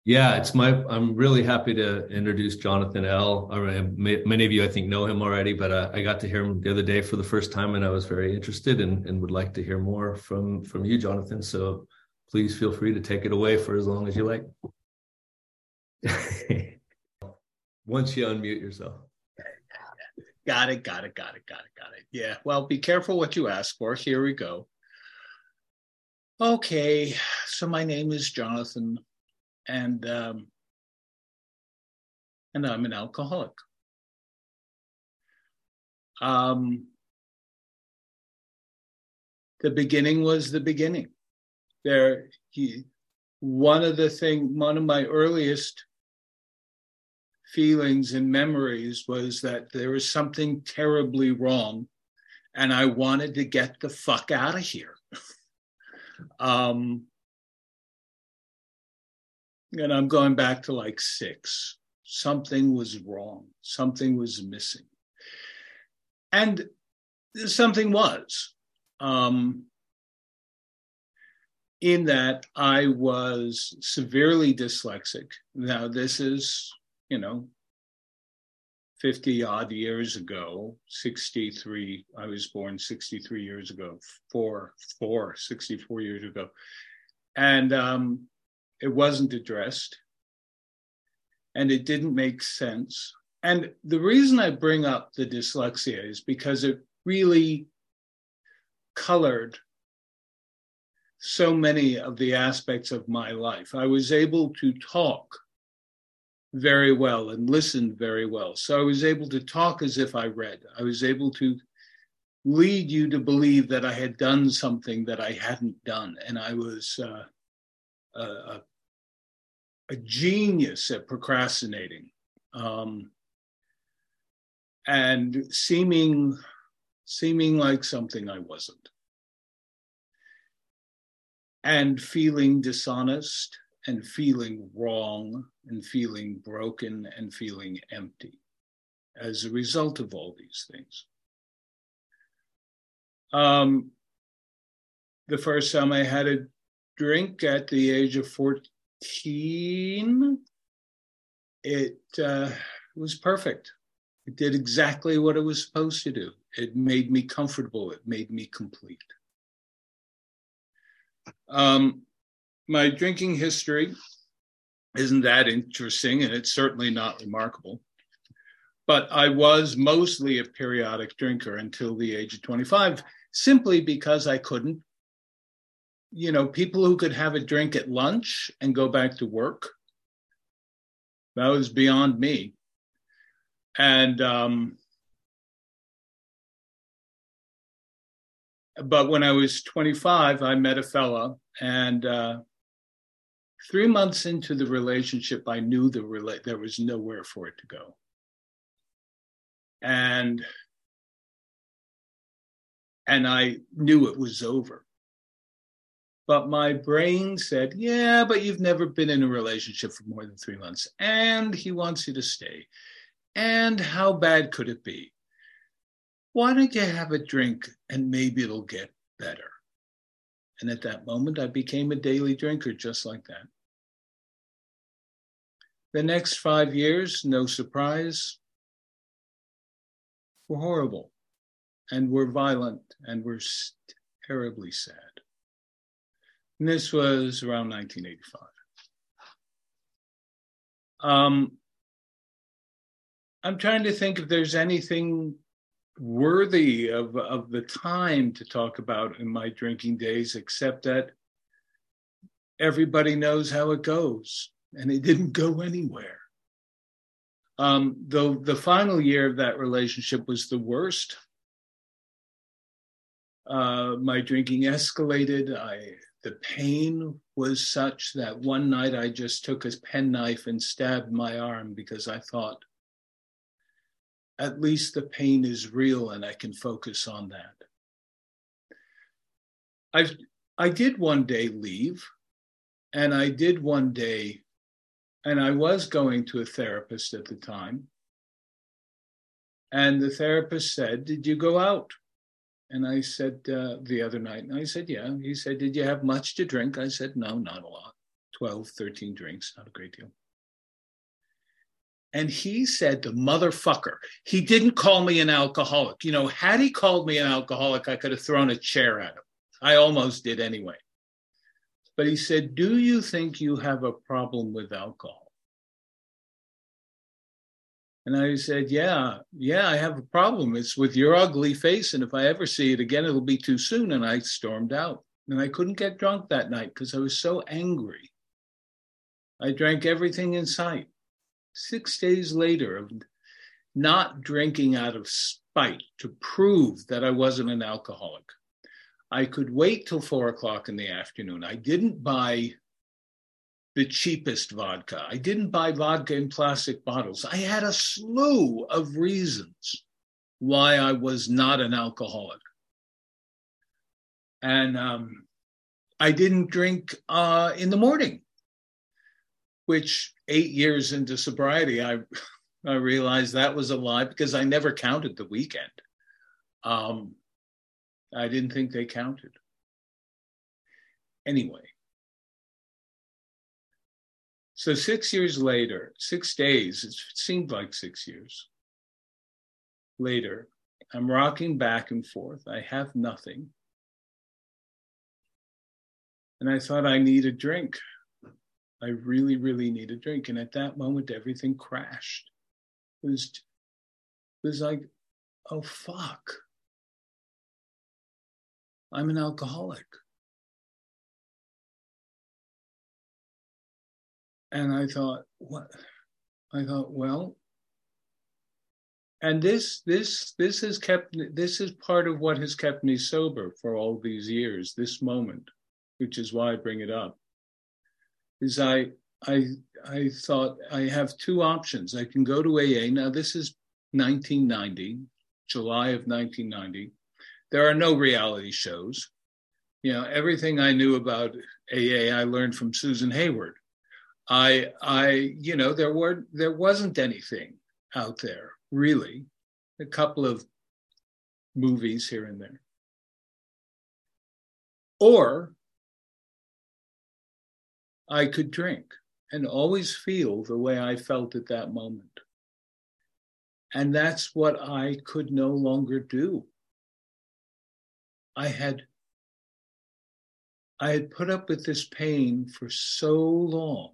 Yeah, I'm really happy to introduce Jonathan L. Many of you, I think, know him already, but I got to hear him the other day for the first time, and I was very interested and would like to hear more from you, Jonathan. So please feel free to take it away for as long as you like. Once you unmute yourself. Got it. Yeah. Well, be careful what you ask for. Here we go. Okay. So my name is Jonathan, and I'm an alcoholic. The beginning was the beginning. One of my earliest feelings and memories was that there was something terribly wrong, and I wanted to get the fuck out of here. And I'm going back to like 6. Something was wrong. Something was missing. And something was. In that I was severely dyslexic. Now, this is, 50 odd years ago, 63. I was born 63 years ago, 64 years ago. And it wasn't addressed. And it didn't make sense. And the reason I bring up the dyslexia is because it really colored so many of the aspects of my life. I was able to talk very well and listen very well. So I was able to talk as if I read. I was able to lead you to believe that I had done something that I hadn't done. And I was a genius at procrastinating and seeming like something I wasn't. And feeling dishonest and feeling wrong and feeling broken and feeling empty as a result of all these things. The first time I had a drink at the age of 14, it was perfect. It did exactly what it was supposed to do. It made me comfortable. It made me complete. My drinking history isn't that interesting, and it's certainly not remarkable. But I was mostly a periodic drinker until the age of 25, simply because I couldn't. People who could have a drink at lunch and go back to work, that was beyond me. And but when I was 25, I met a fella, and 3 months into the relationship, I knew there was nowhere for it to go. And I knew it was over. But my brain said, yeah, but you've never been in a relationship for more than 3 months, and he wants you to stay. And how bad could it be? Why don't you have a drink and maybe it'll get better? And at that moment, I became a daily drinker just like that. The next 5 years, no surprise, were horrible and were violent and were terribly sad. And this was around 1985. I'm trying to think if there's anything worthy of the time to talk about in my drinking days, except that everybody knows how it goes, and it didn't go anywhere. Though the final year of that relationship was the worst. My drinking escalated. The pain was such that one night I just took a penknife and stabbed my arm because I thought, at least the pain is real and I can focus on that. I did one day leave, and I did one day, and I was going to a therapist at the time, and the therapist said, did you go out? And I said, the other night, and I said, yeah. He said, did you have much to drink? I said, no, not a lot. 12, 13 drinks, not a great deal. And he said, the motherfucker, he didn't call me an alcoholic. You know, had he called me an alcoholic, I could have thrown a chair at him. I almost did anyway. But he said, do you think you have a problem with alcohol? And I said, yeah, I have a problem. It's with your ugly face. And if I ever see it again, it'll be too soon. And I stormed out. And I couldn't get drunk that night because I was so angry. I drank everything in sight. 6 days later of not drinking out of spite to prove that I wasn't an alcoholic, I could wait till 4:00 in the afternoon. I didn't buy the cheapest vodka. I didn't buy vodka in plastic bottles. I had a slew of reasons why I was not an alcoholic. And I didn't drink in the morning, which 8 years into sobriety, I realized that was a lie because I never counted the weekend. I didn't think they counted. Anyway, so 6 years later, 6 days, it seemed like 6 years later, I'm rocking back and forth. I have nothing. And I thought I need a drink. I really, really need a drink. And at that moment, everything crashed. It was like, oh, fuck. I'm an alcoholic. And I thought, what? I thought, well, and this is part of what has kept me sober for all these years, this moment, which is why I bring it up, is I thought I have two options. I can go to AA. Now, this is 1990, July of 1990. There are no reality shows. You know, everything I knew about AA, I learned from Susan Hayward. You know, there wasn't anything out there, really. A couple of movies here and there. Or I could drink and always feel the way I felt at that moment. And that's what I could no longer do. I had put up with this pain for so long.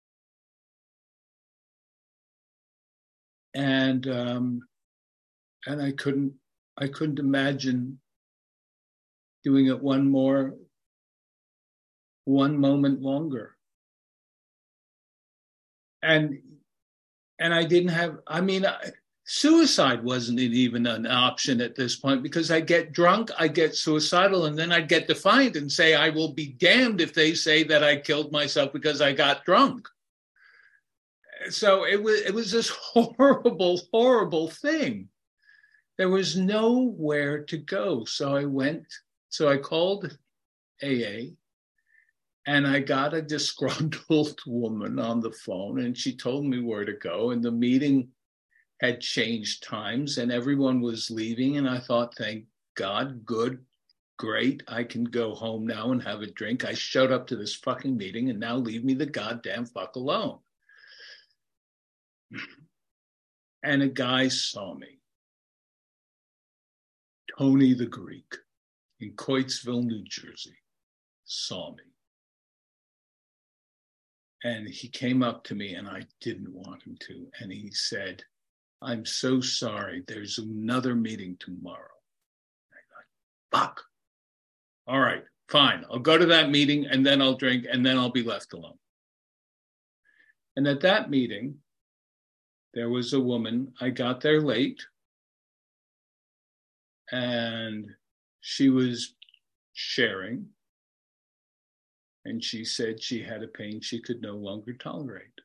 And I couldn't imagine doing it one moment longer. And I didn't have, suicide wasn't even an option at this point because I get drunk, I get suicidal, and then I'd get defiant and say, I will be damned if they say that I killed myself because I got drunk. So it was this horrible, horrible thing. There was nowhere to go. So I called AA and I got a disgruntled woman on the phone and she told me where to go. And the meeting had changed times and everyone was leaving. And I thought, thank God, good, great. I can go home now and have a drink. I showed up to this fucking meeting and now leave me the goddamn fuck alone. And a guy saw me, Tony the Greek, in Coatesville, New Jersey, saw me. And he came up to me and I didn't want him to. And he said, I'm so sorry. There's another meeting tomorrow. I thought, fuck. All right, fine. I'll go to that meeting and then I'll drink and then I'll be left alone. And at that meeting, there was a woman. I got there late and she was sharing. And she said she had a pain she could no longer tolerate.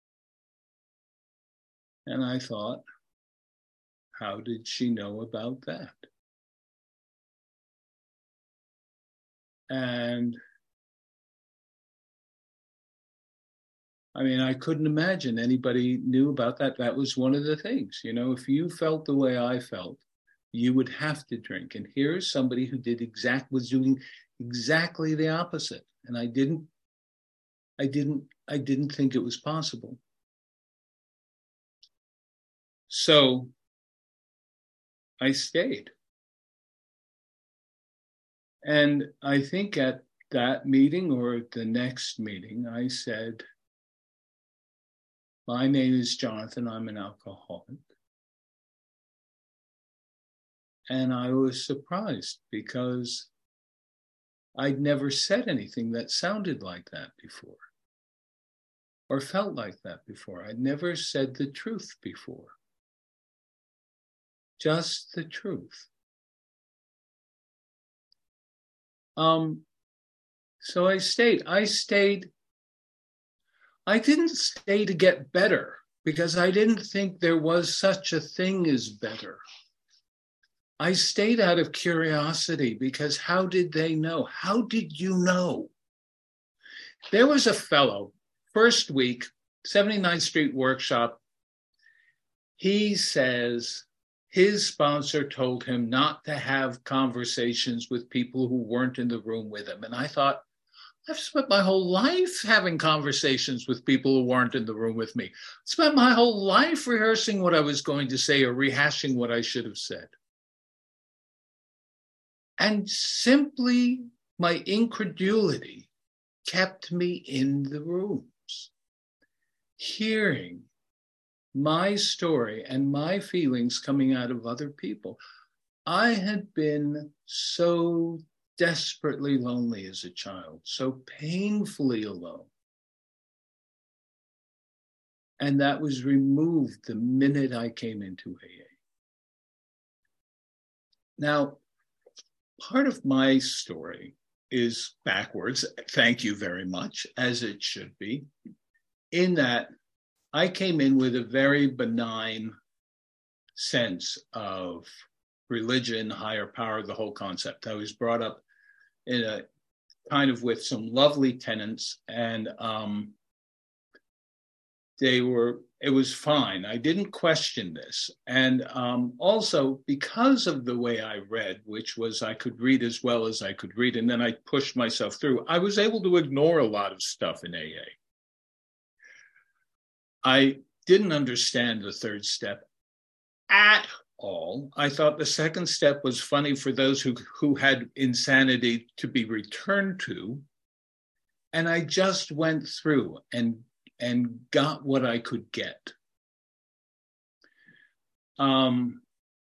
And I thought, how did she know about that? And I couldn't imagine anybody knew about that. That was one of the things, you know, if you felt the way I felt, you would have to drink. And here's somebody who was doing exactly the opposite. And I didn't I didn't think it was possible. So I stayed. And I think at that meeting or the next meeting, I said, my name is Jonathan. I'm an alcoholic. And I was surprised because I'd never said anything that sounded like that before or felt like that before. I'd never said the truth before. Just the truth. So I stayed. I didn't stay to get better because I didn't think there was such a thing as better. I stayed out of curiosity because how did they know? How did you know? There was a fellow, first week, 79th Street Workshop. He says his sponsor told him not to have conversations with people who weren't in the room with him. And I thought, I've spent my whole life having conversations with people who weren't in the room with me. Spent my whole life rehearsing what I was going to say or rehashing what I should have said. And simply my incredulity kept me in the rooms, hearing my story and my feelings coming out of other people. I had been so desperately lonely as a child, so painfully alone. And that was removed the minute I came into AA. Now, part of my story is backwards, thank you very much, as it should be, in that I came in with a very benign sense of religion, higher power, the whole concept. I was brought up in a kind of with some lovely tenants, and it was fine. I didn't question this. And also because of the way I read, which was I could read as well as I could read, and then I pushed myself through, I was able to ignore a lot of stuff in AA. I didn't understand the third step at all. I thought the second step was funny for those who had insanity to be returned to. And I just went through and got what I could get. And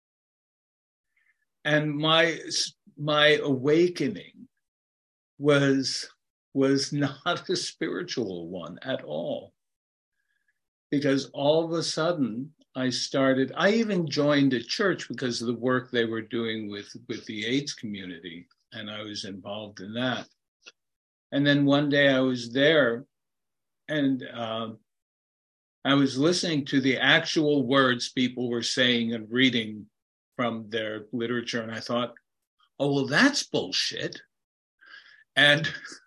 my awakening was not a spiritual one at all. Because all of a sudden I even joined a church because of the work they were doing with the AIDS community, and I was involved in that. And then one day I was there, and I was listening to the actual words people were saying and reading from their literature, and I thought, oh, well, that's bullshit. And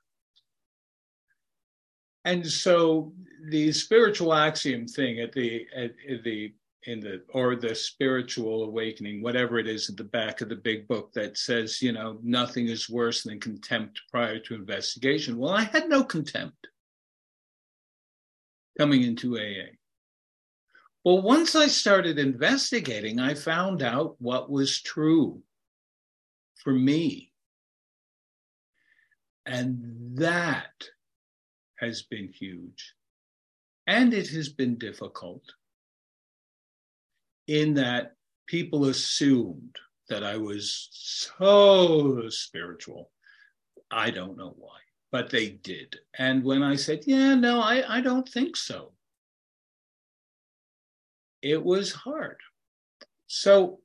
so the spiritual axiom thing the spiritual awakening, whatever it is at the back of the big book that says, nothing is worse than contempt prior to investigation. Well, I had no contempt coming into AA. Well, once I started investigating, I found out what was true for me. And that has been huge. And it has been difficult in that people assumed that I was so spiritual. I don't know why, but they did. And when I said, I don't think so, it was hard. So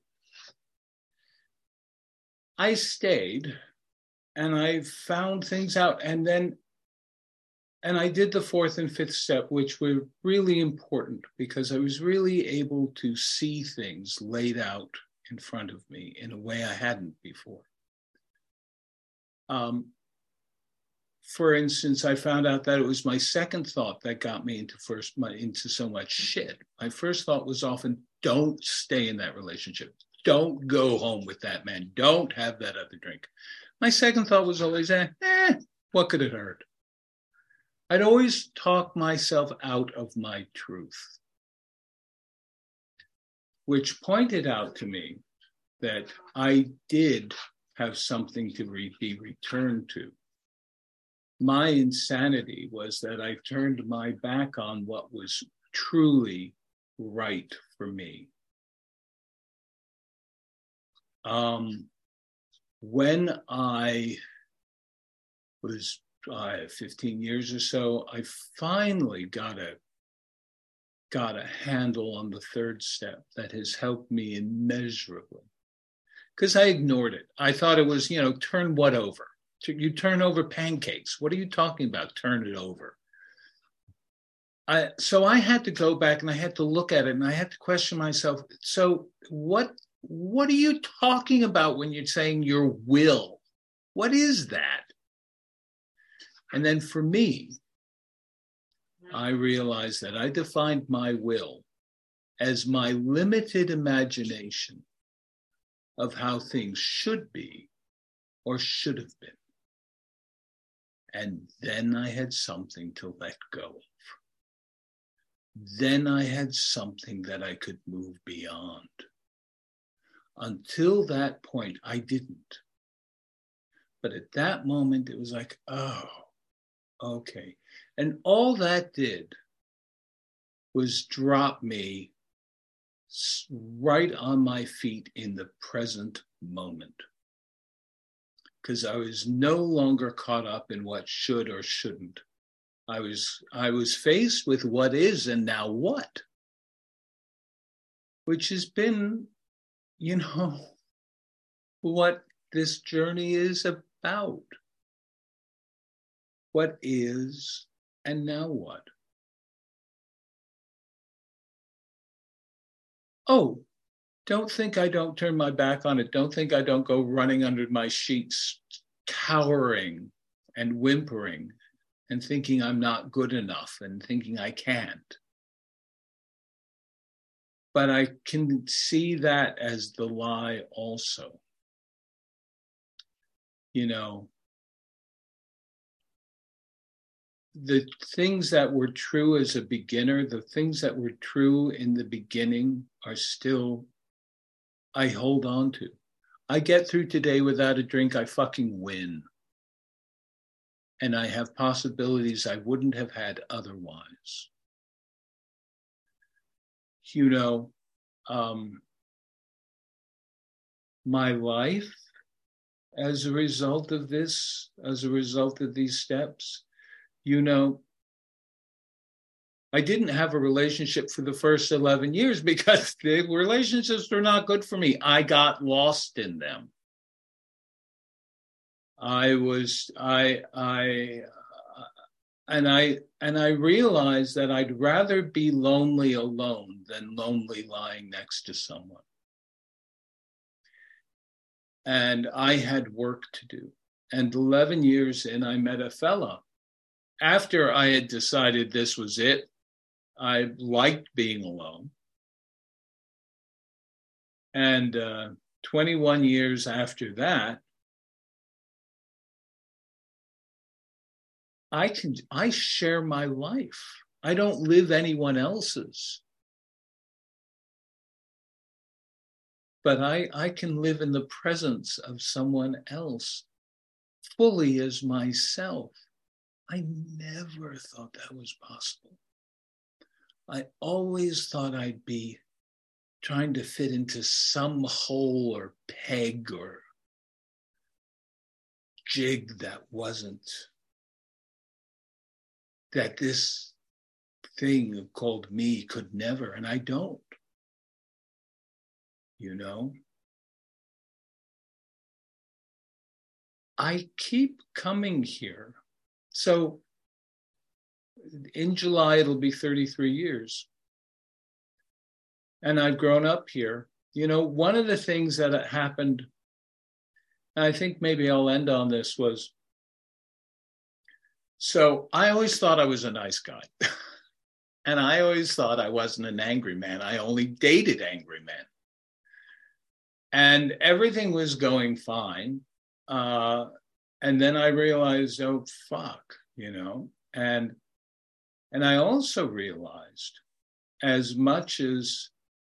I stayed and I found things out. And I did the fourth and fifth step, which were really important because I was really able to see things laid out in front of me in a way I hadn't before. For instance, I found out that it was my second thought that got me into so much shit. My first thought was often, don't stay in that relationship. Don't go home with that man. Don't have that other drink. My second thought was always, what could it hurt? I'd always talk myself out of my truth, which pointed out to me that I did have something to be returned to. My insanity was that I turned my back on what was truly right for me. When I was 15 years or so, I finally got a handle on the third step that has helped me immeasurably. Because I ignored it. I thought it was, turn what over? You turn over pancakes. What are you talking about? Turn it over. So I had to go back and I had to look at it and I had to question myself. So what are you talking about when you're saying your will? What is that? And then for me, I realized that I defined my will as my limited imagination of how things should be or should have been. And then I had something to let go of. Then I had something that I could move beyond. Until that point, I didn't. But at that moment, it was like, oh, okay. And all that did was drop me right on my feet in the present moment. Because I was no longer caught up in what should or shouldn't. I was faced with what is and now what, which has been, what this journey is about. What is and now what? Oh, don't think I don't turn my back on it. Don't think I don't go running under my sheets, cowering and whimpering and thinking I'm not good enough and thinking I can't. But I can see that as the lie also. The things that were true as a beginner, the things that were true in the beginning are still, I hold on to. I get through today without a drink, I fucking win. And I have possibilities I wouldn't have had otherwise. My life, as a result of this, as a result of these steps, I didn't have a relationship for the first 11 years because the relationships were not good for me. I got lost in them. I realized that I'd rather be lonely alone than lonely lying next to someone. And I had work to do. And 11 years in, I met a fella. After I had decided this was it, I liked being alone. And 21 years after that, I share my life. I don't live anyone else's. But I can live in the presence of someone else fully as myself. I never thought that was possible. I always thought I'd be trying to fit into some hole or peg or jig that wasn't, that this thing called me could never, and I don't. I keep coming here. So in July, it'll be 33 years. And I've grown up here. One of the things that happened, and I think maybe I'll end on this, was, so I always thought I was a nice guy. And I always thought I wasn't an angry man. I only dated angry men. And everything was going fine. And then I realized, oh, fuck, and And I also realized, as much as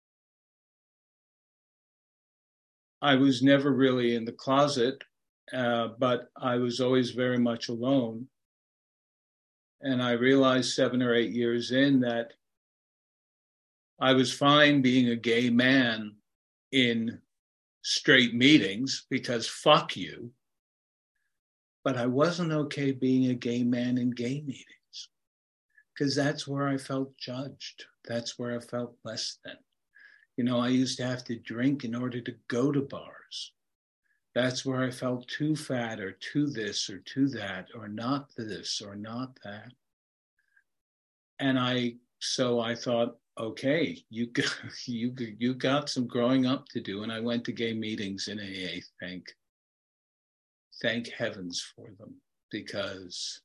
I was never really in the closet, but I was always very much alone. And I realized 7 or 8 years in that I was fine being a gay man in straight meetings because fuck you. But I wasn't okay being a gay man in gay meetings because that's where I felt judged. That's where I felt less than. You know, I used to have to drink in order to go to bars. That's where I felt too fat or too this or too that or not this or not that. And so I thought, okay, you got some growing up to do. And I went to gay meetings in AA, thank heavens for them, because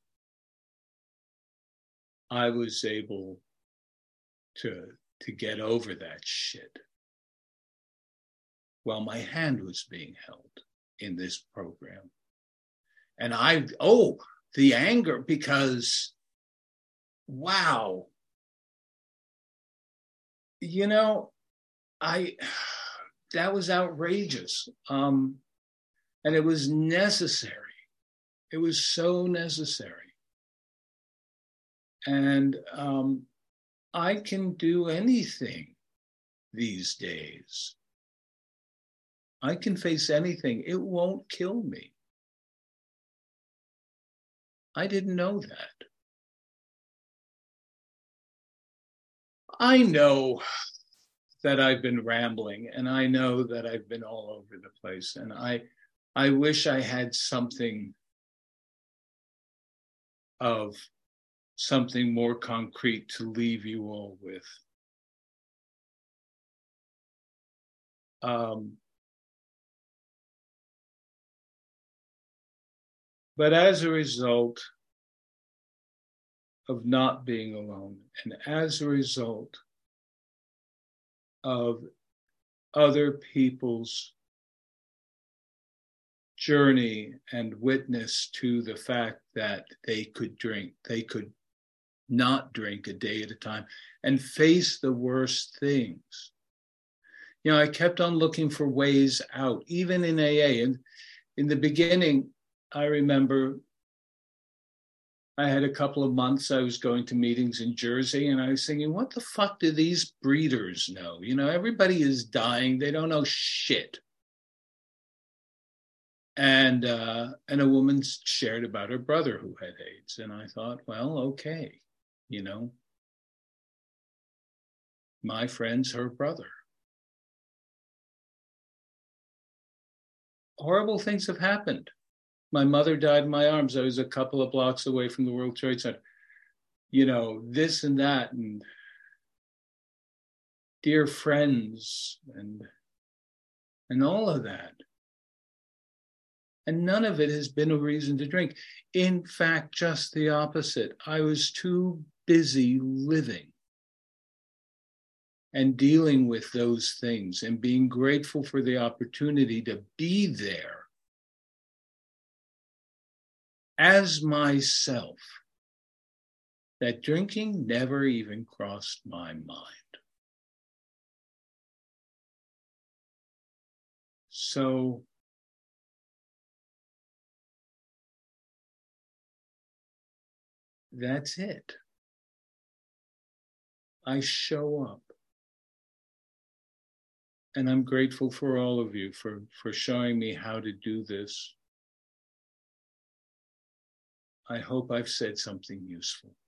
I was able to get over that shit while my hand was being held in this program. And the anger, because, wow, you know, that was outrageous. And it was necessary. It was so necessary. And I can do anything these days. I can face anything. It won't kill me. I didn't know that. I know that I've been rambling, and I know that I've been all over the place. And I wish I had something more concrete to leave you all with. But as a result of not being alone, and as a result of other people's journey and witness to the fact that they could not drink a day at a time and face the worst things. You know, I kept on looking for ways out, even in AA. And in the beginning, I remember I had a couple of months I was going to meetings in Jersey, and I was thinking, what the fuck do these breeders know? You know, everybody is dying. They don't know shit. And a woman shared about her brother who had AIDS. And I thought, well, okay, you know, my friend's her brother. Horrible things have happened. My mother died in my arms. I was a couple of blocks away from the World Trade Center. You know, this and that, and dear friends, and all of that. And none of it has been a reason to drink. In fact, just the opposite. I was too busy living and dealing with those things and being grateful for the opportunity to be there as myself, that drinking never even crossed my mind. So that's it. I show up. And I'm grateful for all of you for showing me how to do this. I hope I've said something useful.